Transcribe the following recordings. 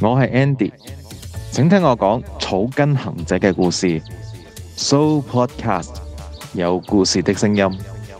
我係 Andy，請聽我講草根行者嘅故事。So Podcast 有故事的聲音。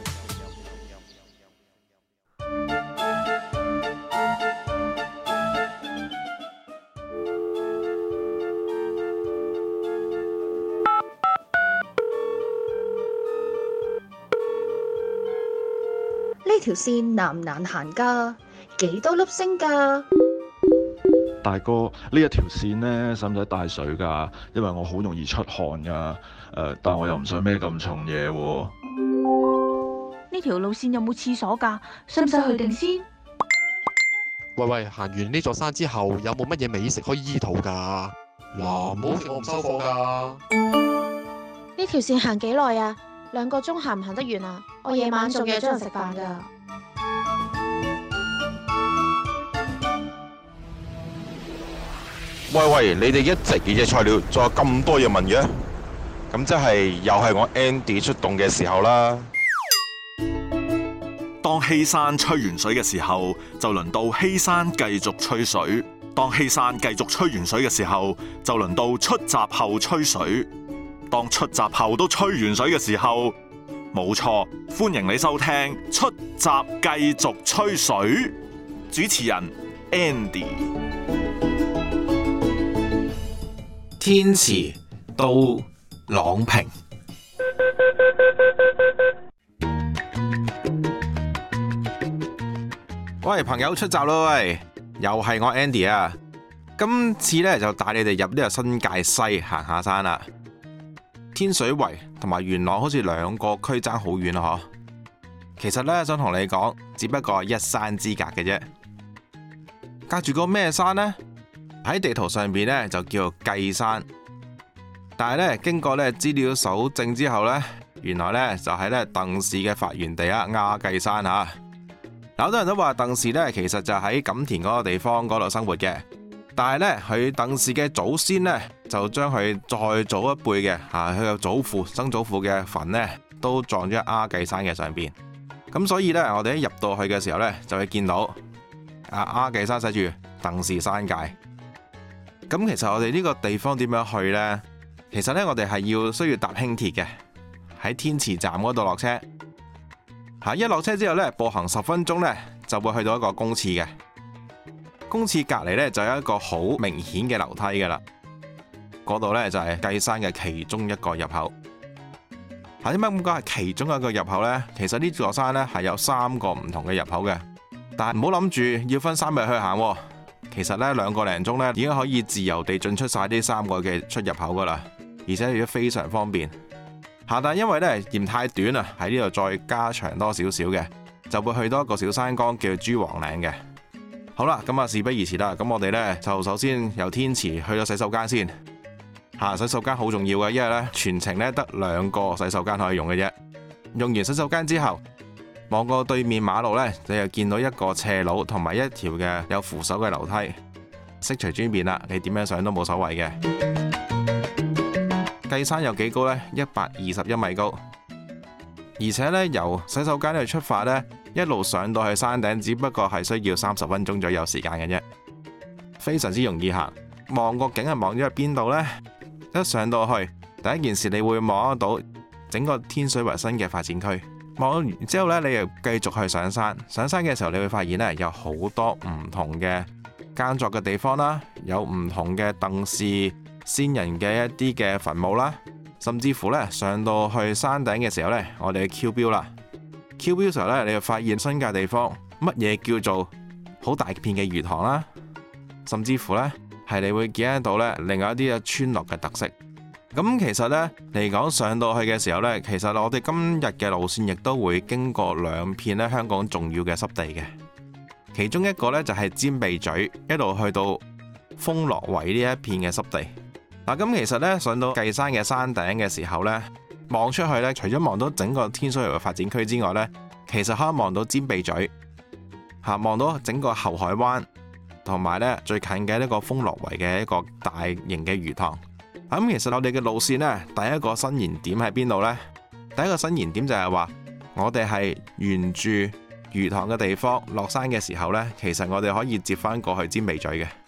呢條線難唔難行㗎？幾多粒星㗎？ 大哥，呢一條線呢，使唔使帶水㗎？因為我好容易出汗㗎。但我又唔想孭咁重嘢喎。 呢條路線有冇廁所㗎？使唔使去定先？ 喂，行完呢座山之後，有冇乜嘢美食可以醫肚㗎？嗱，唔好食我唔收貨㗎。 呢條線行幾耐啊？2個鐘行唔行得完啊？我夜晚仲約咗人食飯㗎。 喂，你哋一直熱嘅菜料，仲有咁多嘢問嘅，咁即係又係我 Andy 出動嘅時候啦。 當希山吹完水嘅時候，就輪到希山繼續吹水；當希山繼續吹完水嘅時候，就輪到出閘後吹水；當出閘後都吹完水嘅時候，冇錯，歡迎你收聽出閘繼續吹水。主持人 Andy。 天池到朗屏，喂，朋友出閘咯，喂，又係我 Andy 啊！今次咧就帶你哋入呢個新界西行下山啦。天水圍同埋元朗好似兩個區爭好遠啊，嗬。其實咧想同你講，只不過係一山之隔嘅啫。隔住個咩山呢？喺地圖上邊咧就叫做計山，但係咧經過咧資料搜證之後咧，原來咧就係咧鄧氏嘅發源地啊，亞計山吓。好多人都話鄧氏咧其實就喺錦田嗰個地方嗰度生活嘅，但係咧佢鄧氏嘅祖先咧就將佢再早一輩嘅佢嘅祖父、曾祖父嘅墳咧都葬咗喺亞計山嘅上邊。咁所以咧我哋一入到去嘅時候咧就會見到亞計山寫住鄧氏山界。咁其實我哋呢個地方點樣去呢？其實呢，我哋係需要搭輕鐵嘅，喺天池站嗰度落車。一落車之後呢，步行10分鐘呢，就會去到一個公廁嘅。公廁隔籬呢，就有一個好明顯嘅樓梯噶啦。嗰度呢，就係計山嘅其中一個入口。點解咁講係其中一個入口呢？其實呢座山呢，係有3個唔同嘅入口嘅，但係唔好諗住要分3日去行。其實咧2個零鐘咧已經可以自由地進出晒呢3個嘅出入口噶啦，而且亦都非常方便。但係因為咧嫌太短啊，喺呢度再加長多少少嘅，就會去到一個小山崗叫珠黃嶺嘅。好啦，咁事不宜遲啦，咁我哋咧就首先由天池去到洗手間先。洗手間好重要嘅，因為咧全程咧得2個洗手間可以用嘅啫。用完洗手間之後，望過對面馬路呢，你就見到一個斜路同埋一條嘅有扶手嘅樓梯，悉隨尊便啦，你點樣上都冇所謂嘅。計山有幾高呢？121米高，而且呢，由洗手間去出發呢，一路上到去山頂，只不過係需要30分鐘左右時間嘅啫，非常之容易行。望個景係望咗去邊度呢？一上到去，第一件事你會望得到整個天水圍新嘅發展區。望完之後呢，你又繼續去上山。上山嘅時候，你會發現呢，有好多唔同嘅耕作嘅地方啦，有唔同嘅鄧氏先人嘅一啲嘅墳墓啦，甚至乎呢，上到去山頂嘅時候呢，我哋 Q 標啦。Q 標嘅時候呢，你就發現新界地方乜嘢叫做好大片嘅魚塘啦，甚至乎呢，係你會見得到呢另外一啲嘅村落嘅特色。咁其實呢，嚟講上到去嘅時候呢，其實我哋今日嘅路線亦都會經過2片呢香港重要嘅濕地嘅，其中一個呢，就係尖鼻咀，一路去到豐樂圍呢一片嘅濕地。咁其實呢，上到計山嘅山頂嘅時候呢，望出去呢，除咗望到整個天水圍嘅發展區之外呢，其實可以望到尖鼻咀，望到整個後海灣，同埋呢最近嘅呢個豐樂圍嘅一個大型嘅魚塘。咁其實我哋嘅路線呢，第一個伸延點喺邊度呢？第一個伸延點就係話，我哋係沿住魚塘嘅地方落山嘅時候呢，其實我哋可以接返過去尖鼻咀嘅。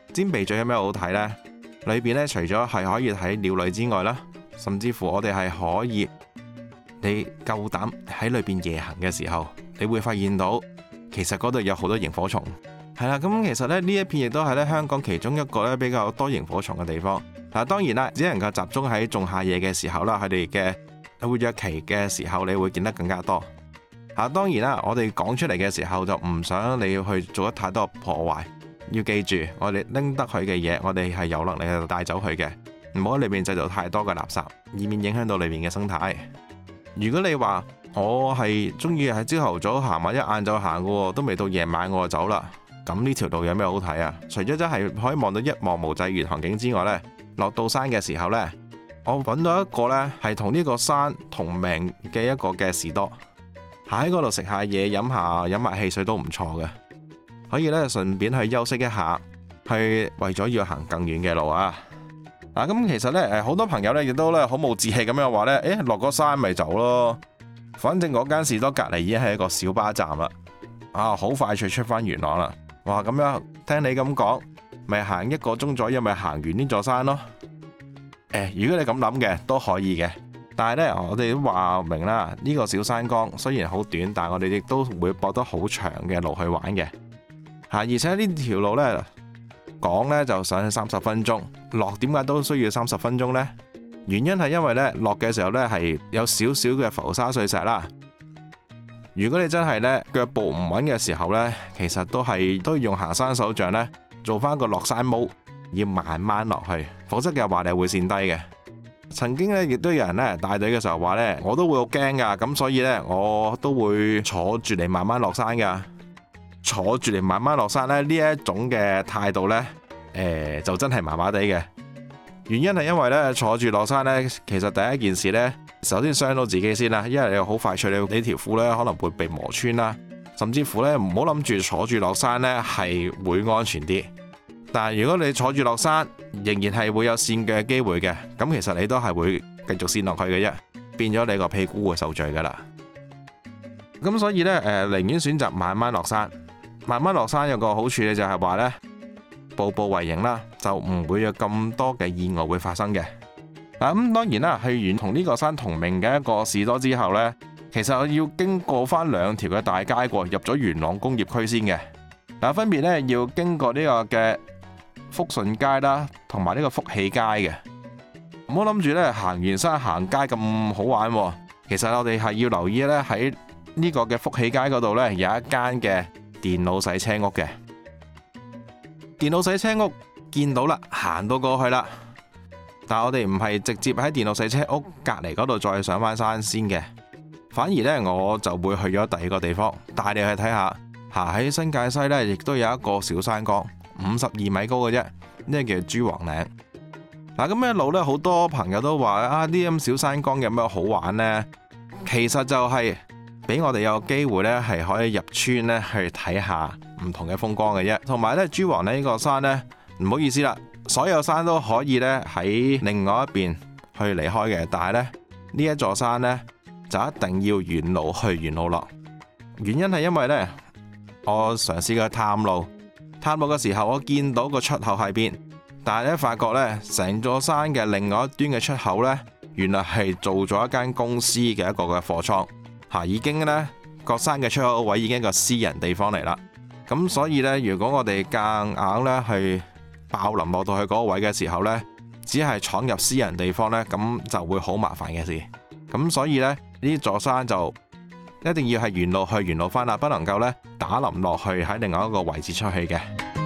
尖鼻咀有咩好睇呢？裏邊呢，除咗係可以睇鳥類之外啦，甚至乎我哋係可以，你夠膽喺裏邊夜行嘅時候，你會發現到其實嗰度有好多螢火蟲。係啦，咁其實咧呢一片亦都係咧香港其中一個咧比較多螢火蟲嘅地方。嗱，當然啦，只能夠集中喺仲夏夜嘅時候啦，佢哋嘅活躍期嘅時候，你會見得更加多。當然啦，我哋講出嚟嘅時候就唔想你要去做得太多破壞。要記住，我哋拎得佢嘅嘢，我哋係有能力去帶走佢嘅，唔好喺裏面製造太多嘅垃圾，以免影響到裏面嘅生態。如果你話我係中意喺朝頭早行或者晏晝行嘅，都未到夜晚我就走啦，咁呢條路有咩好睇啊？除咗真係可以望到一望無際遠航景之外呢，落到山嘅時候呢，我揾到一個呢係同呢個山同名嘅一個嘅士多，喺嗰度食下嘢，飲下汽水都唔錯嘅。可以咧，順便去休息一下，去為咗要行更遠嘅路啊！咁其實咧，好多朋友咧亦都咧好冇志氣咁樣話咧，落個山咪走咯。反正嗰間士多隔離已經係一個小巴站啦，好快脆出翻元朗啦。哇，咁樣聽你咁講，咪行1個鐘左右，咪行完呢座山咯。如果你咁諗嘅都可以嘅，但係咧，我哋都話明啦，呢個小山崗雖然好短，但係我哋亦都會駁得好長嘅路去玩嘅。而且呢條路呢，講呢就上去30分鐘，落點解都需要30分鐘呢？原因係因為呢，落嘅時候呢係有少少嘅浮沙碎石啦。如果你真係呢腳步唔穩嘅時候呢，其實都要用行山手杖呢做翻個落山模，要慢慢落去，否則嘅話你會跣低嘅。曾經呢，亦都有人呢帶隊嘅時候話呢，我都會好驚噶，咁所以呢，我都會坐住嚟慢慢落山噶。坐住嚟慢慢落山呢，呢一種嘅態度呢，就真係麻麻地嘅。原因係因為呢，坐住落山呢，其實第一件事呢，首先傷到自己先啦，因為你好快脆，你條褲呢可能會被磨穿啦，甚至乎呢，唔好諗住坐住落山呢係會安全啲。但係如果你坐住落山，仍然係會有跣腳嘅機會嘅，咁其實你都係會繼續跣落去嘅啫，變咗你個屁股會受罪噶啦。咁所以呢，寧願選擇慢慢落山。慢慢落山有個好處咧，就係話呢，步步為營啦，就唔會有咁多嘅意外會發生嘅。咁當然啦，去完同呢個山同名嘅一個士多之後呢，其實我要經過翻2條嘅大街過，入咗元朗工業區先嘅。分別呢，要經過呢個嘅福順街啦，同埋呢個福喜街嘅。唔好諗住呢，行完山行街咁好玩喎。其實我哋係要留意呢，喺呢個嘅福喜街嗰度呢，有一間嘅電腦洗車屋嘅。電腦洗車屋見到啦，行到過去啦，但係我哋唔係直接喺電腦洗車屋隔離嗰度再上翻山先嘅，反而呢，我就會去咗第二個地方，帶你去睇下。喺新界西呢，亦都有一個小山崗，52米高嘅啫，呢個叫珠黃嶺。咁一路呢，好多朋友都話呢啲咁小山崗有咩好玩呢？其實就係俾我哋有機會呢，係可以入村呢去睇下唔同嘅風光嘅啫。同埋呢，珠黃呢個山呢，唔好意思啦，所有山都可以呢喺另外一邊去離開嘅，但係呢，呢一座山呢，就一定要沿路去沿路落。原因係因為呢，我嘗試過探路嘅時候，我見到個出口喺邊，但係呢，發覺呢，成座山嘅另外一端嘅出口呢，原來係做咗一間公司嘅一個嘅貨倉。已經呢個山嘅出口位已經係個私人地方嚟啦，咁所以呢，如果我哋夾硬呢去爆林落到去嗰個位嘅時候呢，只係闖入私人地方呢，咁就會好麻煩嘅事。咁所以呢，呢座山就一定要係沿路去沿路返啦，不能夠呢打林落去喺另外一個位置出去嘅。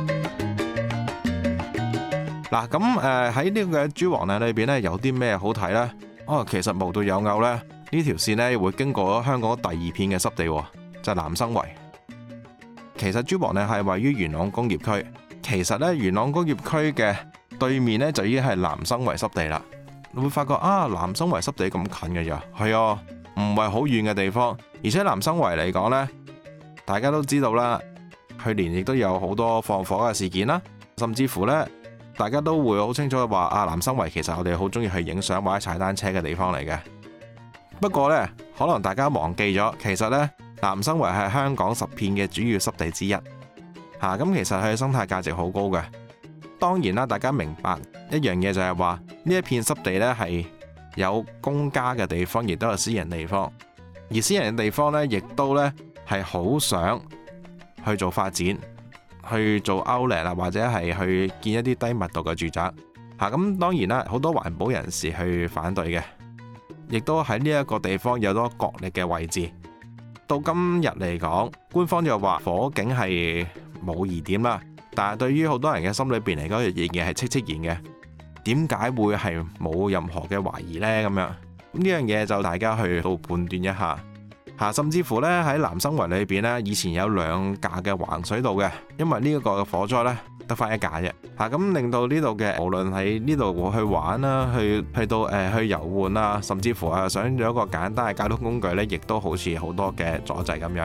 嗱，咁喺呢個珠黃嶺裏邊呢，有啲咩好睇呢？其實無獨有偶呢。呢條線呢會經過香港第2片嘅濕地，就係南生圍。其實珠黃嶺係位於元朗工業區，其實呢，元朗工業區嘅對面呢，就已經係南生圍濕地啦。你會發覺南生圍濕地咁近嘅咋？係啊，唔係好遠嘅地方。而且南生圍嚟講呢，大家都知道啦，去年亦都有好多放火嘅事件啦，甚至乎呢，大家都會好清楚話南生圍其實我哋好中意去影相或者踩單車嘅地方嚟嘅。不過呢，可能大家忘記咗，其實呢，南生圍係香港10片嘅主要濕地之一。咁其實佢嘅生態價值好高嘅。 當然啦，大家明白一樣嘢就係話呢一片濕地呢係有公家嘅地方，亦都有私人地方。而私人嘅地方呢，亦都呢係好想去做發展，去做 outlet 啦，或者係去建一啲低密度嘅住宅。咁當然啦，好多環保人士去反對嘅，亦都喺呢一個地方有多角力嘅位置。到今日嚟講，官方就話火警係冇疑點啦，但係對於好多人嘅心裏邊嚟講，仍然係戚然嘅。點解會係冇任何嘅懷疑呢？咁樣呢樣嘢就大家去到判斷一下。甚至乎呢，喺南生圍裏邊呢，以前有2架嘅橫水道嘅，因為呢一個火災呢，得翻1架啫。咁令到呢度嘅無論喺呢度去玩啦，去到去遊玩啊，甚至乎想有一個簡單嘅交通工具呢，亦都好似好多嘅阻滯咁樣。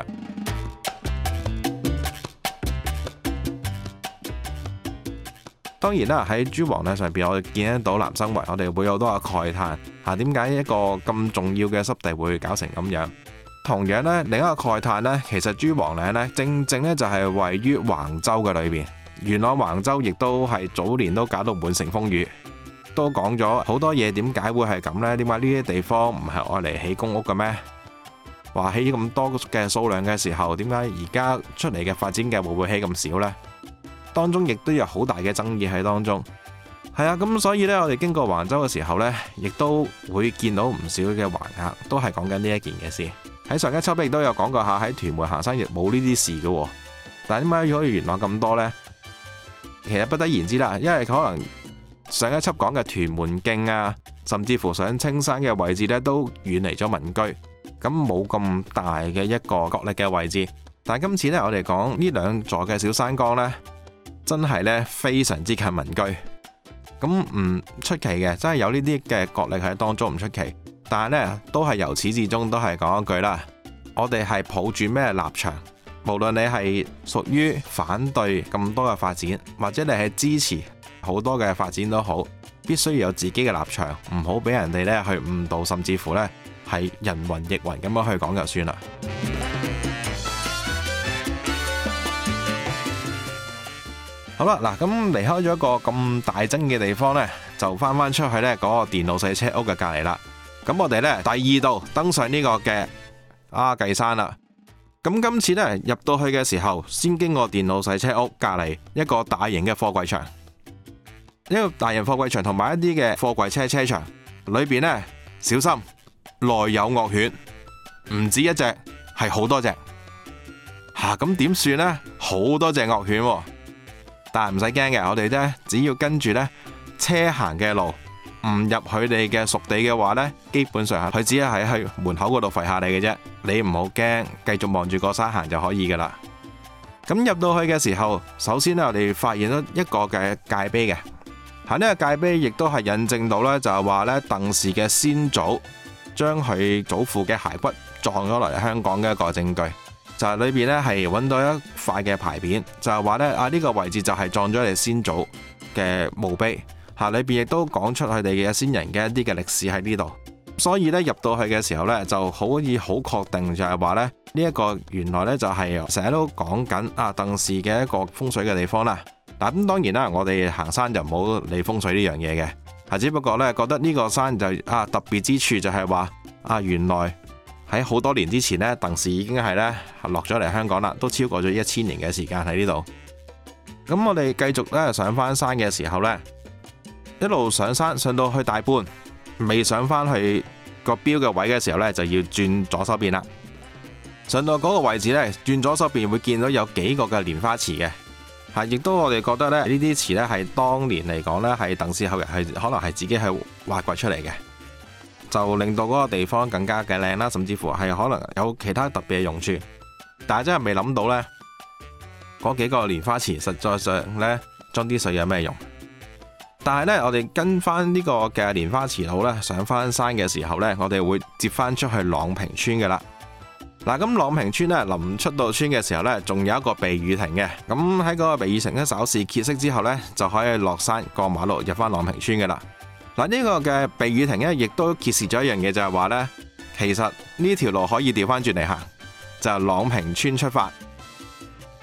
當然啦，喺珠黃咧上邊，我哋見得到南生圍，我哋會有好多嘅慨嘆。點解一個咁重要嘅濕地會搞成咁樣？同樣呢，另一個慨嘆呢，其實珠黃嶺呢，正正呢就係位於橫洲嘅裏邊。元朗橫洲亦都係早年都搞到滿城風雨，都講咗好多嘢。點解會係咁呢？點解呢啲地方唔係愛嚟起公屋嘅咩？話起咁多嘅數量嘅時候，點解而家出嚟嘅發展嘅會唔會起咁少呢？當中亦都有好大嘅爭議喺當中。咁所以呢，我哋經過橫洲嘅時候呢，亦都會見到唔少嘅橫額，都係講緊呢一件嘅事。喺上一輯亦都有講過下，喺屯門行山亦冇呢啲事嘅。但係點解可以元朗咁多呢？其實不得而知啦，因為可能上一輯講嘅屯門徑啊，甚至乎上青山嘅位置呢，都遠離咗民居，咁冇咁大嘅一個角力嘅位置。但係今次呢，我哋講呢2座嘅小山崗呢，真係呢非常之近民居，咁唔出奇嘅，真係有呢啲嘅角力喺當中唔出奇。但係呢，都係由始至終都係講一句啦，我哋係抱住咩立場？無論你係屬於反對咁多嘅發展，或者你係支持好多嘅發展都好，必須要有自己嘅立場，唔好俾人哋呢去誤導，甚至乎呢係人云亦云咁樣去講就算啦。好啦，嗱，咁離開咗一個咁大爭嘅地方呢，就翻出去呢嗰個電腦洗車屋嘅隔離啦。咁我哋呢，第2度登上呢個嘅鴉髻山啦。咁今次呢，入到去嘅時候，先經過電腦洗車屋隔離一個大型嘅貨櫃場，一個大型貨櫃場同埋一啲嘅貨櫃車場裏邊呢，小心內有惡犬，唔止一隻，係好多隻。咁點算呢？好多隻惡犬，但係唔使驚嘅，我哋呢，只要跟住呢車行嘅路，唔入佢哋嘅屬地嘅話呢，基本上佢只係喺門口嗰度吠下你嘅啫，你唔好驚，繼續望住個山行就可以噶啦。咁入到去嘅時候，首先呢，我哋發現咗一個嘅界碑嘅，呢個界碑亦都係印證到呢，就係話呢鄧氏嘅先祖將佢祖父嘅骸骨撞咗落嚟香港嘅一個證據，就係裏邊呢係揾到一塊嘅牌匾，就係話呢呢個位置就係撞咗你先祖嘅墓碑。裏邊亦都講出佢哋嘅先人嘅一啲嘅歷史喺呢度，所以咧入到去嘅時候咧就可以好確定就係話咧呢一個原來咧就係成日都講緊鄧氏嘅一個風水嘅地方啦。嗱，咁當然啦，我哋行山就唔好理風水呢樣嘢嘅，只不過咧覺得呢個山就特別之處就係話原來喺好多年之前咧鄧氏已經係咧落咗嚟香港啦，都超過咗1000年嘅時間喺呢度。咁我哋繼續咧上翻山嘅時候咧，一路上山上到去大半，未上返去個標嘅位嘅時候呢，就要轉左手邊啦。上到嗰個位置呢，轉左手邊會見到有幾個嘅蓮花池嘅，亦都我哋覺得呢啲池呢係當年嚟講呢係鄧氏後人係可能係自己係挖掘出嚟嘅，就令到嗰個地方更加嘅靚啦，甚至乎係可能有其他特別嘅用處。但係真係未諗到呢，嗰幾個蓮花池實在上呢裝啲水有咩用？但係呢，我哋跟翻呢個嘅蓮花池路呢，上翻山嘅時候呢，我哋會接翻出去朗屏村嘅啦。嗱，咁朗屏村呢，臨出到村嘅時候呢，仲有一個避雨亭嘅。咁喺嗰個避雨亭呢，稍事歇息之後呢，就可以落山過馬路入翻朗屏村嘅啦。嗱，呢個嘅避雨亭呢，亦都揭示咗一樣嘢，就係話呢，其實呢條路可以調翻轉嚟行，就係朗屏村出發。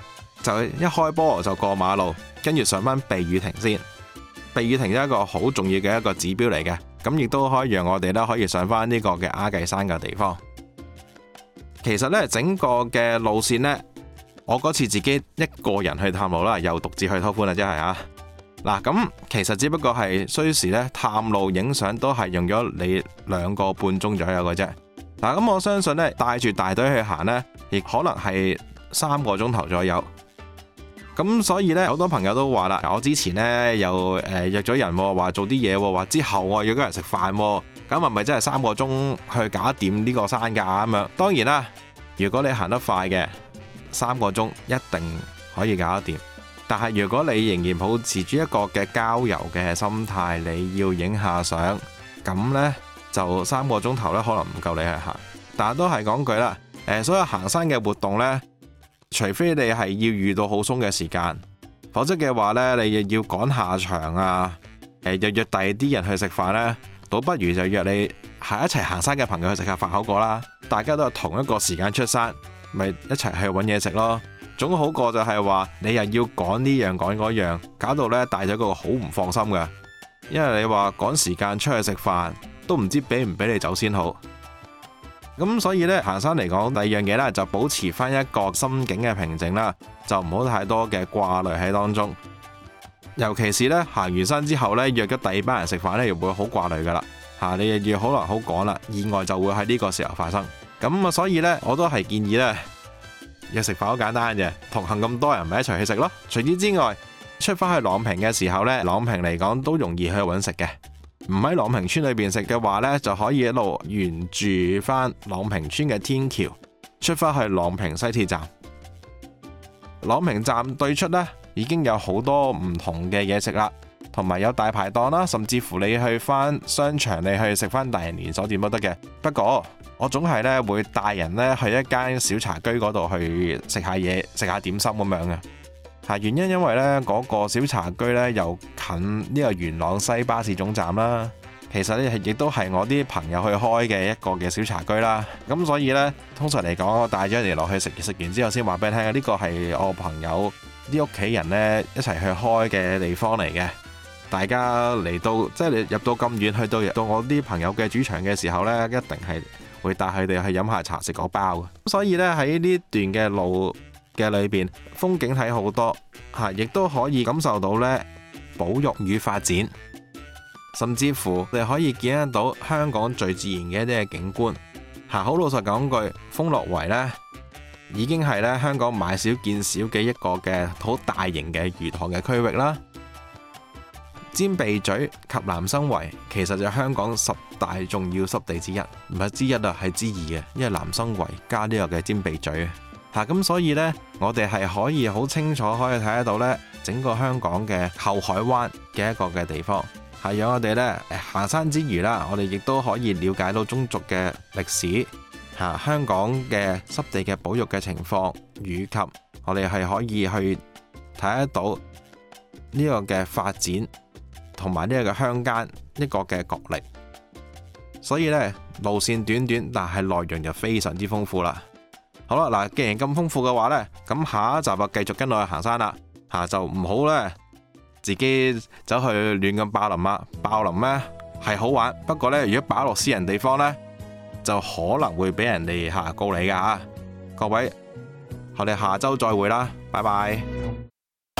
就一開波就過馬路，跟住上返避雨亭先。避雨亭係一個好重要嘅一個指標嚟嘅，咁亦都可以讓我哋咧可以上返呢個嘅鴉髻山嘅地方。其實呢，整個嘅路線呢，我嗰次自己一個人去探路啦，又獨自去拖寬啦，真係啊！嗱，咁其實只不過係需時呢，探路影相都係用咗你2個半鐘左右嘅啫。嗱，咁我相信呢，帶住大隊去行呢，亦可能係3個鐘頭左右。咁所以呢，好多朋友都話啦，我之前呢又約咗人話做啲嘢，話之後我約咗人食飯，咁係咪真係3個鐘去搞掂呢個山㗎咁樣？當然啦，如果你行得快嘅，3個鐘一定可以搞得掂。但係如果你仍然保持住一個嘅郊遊嘅心態，你要影下相，咁呢就3個鐘頭呢可能唔夠你去行。但係都係講句啦，所有行山嘅活動呢，除非你係要遇到好鬆嘅時間，否則嘅話呢，你又要趕下場啊，又約第二啲人去食飯呢，倒不如就約你係一齊行山嘅朋友去食下飯好過啦。大家都係同一個時間出山，咪一齊去揾嘢食咯。總好過就係話你又要趕呢樣趕嗰樣，搞到呢帶咗個好唔放心㗎。因為你話趕時間出去食飯，都唔知俾唔俾你走先好。咁所以呢，行山嚟講，第二樣嘢呢，就保持翻一個心境嘅平靜啦，就唔好太多嘅掛慮喺當中。尤其是呢，行完山之後呢，約咗第二班人食飯呢，又會好掛慮噶啦。你又要好難好趕啦，意外就會喺呢個時候發生。咁啊，所以呢，我都係建議呢，約食飯好簡單嘅，同行咁多人咪一齊去食咯。除此之外，出返去朗屏嘅時候呢，朗屏嚟講都容易去揾食嘅。唔喺朗屏村裏邊食嘅話呢，就可以一路沿住翻朗屏村嘅天橋出返去朗屏西鐵站。朗屏站對出呢，已經有好多唔同嘅嘢食啦，同埋有大排檔啦，甚至乎你去翻商場，你去食翻大型連鎖店都得嘅。不過我總係呢會帶人呢去一間小茶居嗰度去食下嘢，食下點心咁樣嘅。原因因為呢嗰個小茶居呢又近呢個元朗西巴士總站啦，其實呢亦都係我啲朋友去開嘅一個嘅小茶居啦。咁所以呢，通常嚟講，我帶咗人哋落去食完之後先話俾你聽，呢個係我朋友啲屋企人呢一齊去開嘅地方嚟嘅。大家嚟到即係你入到咁遠，去到我啲朋友嘅主場嘅時候呢，一定係會帶佢哋去飲下茶食個包嘅。所以呢，喺呢段嘅路嘅裏邊，風景睇好多，亦都可以感受到呢保育與發展，甚至乎你可以見得到香港最自然嘅一啲嘅景觀。好老實講句，豐樂圍呢已經係呢香港買少見少嘅一個嘅好大型嘅魚塘嘅區域啦。尖鼻咀及南生圍其實就係香港10大重要濕地之一，唔係之一啊，係之二嘅，因為南生圍加呢個嘅尖鼻咀。咁所以呢，我哋係可以好清楚可以睇得到呢整個香港嘅後海灣嘅一個嘅地方，係讓我哋呢行山之餘啦，我哋亦都可以了解到中族嘅歷史，香港嘅濕地嘅保育嘅情況，以及我哋係可以去睇得到呢個嘅發展，同埋呢個嘅鄉間一個嘅角力。所以呢，路線短短，但係內容就非常之豐富啦。好啦，嗱，既然咁豐富嘅話呢，咁下一集就繼續跟我去行山啦。就唔好呢，自己走去亂咁爆林啦。爆林呢係好玩，不過呢，如果擺落私人地方呢，就可能會俾人哋告你噶吓。各位，我哋下周再會啦，拜拜。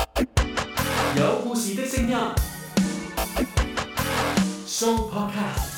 有故事的聲音，Show Podcast。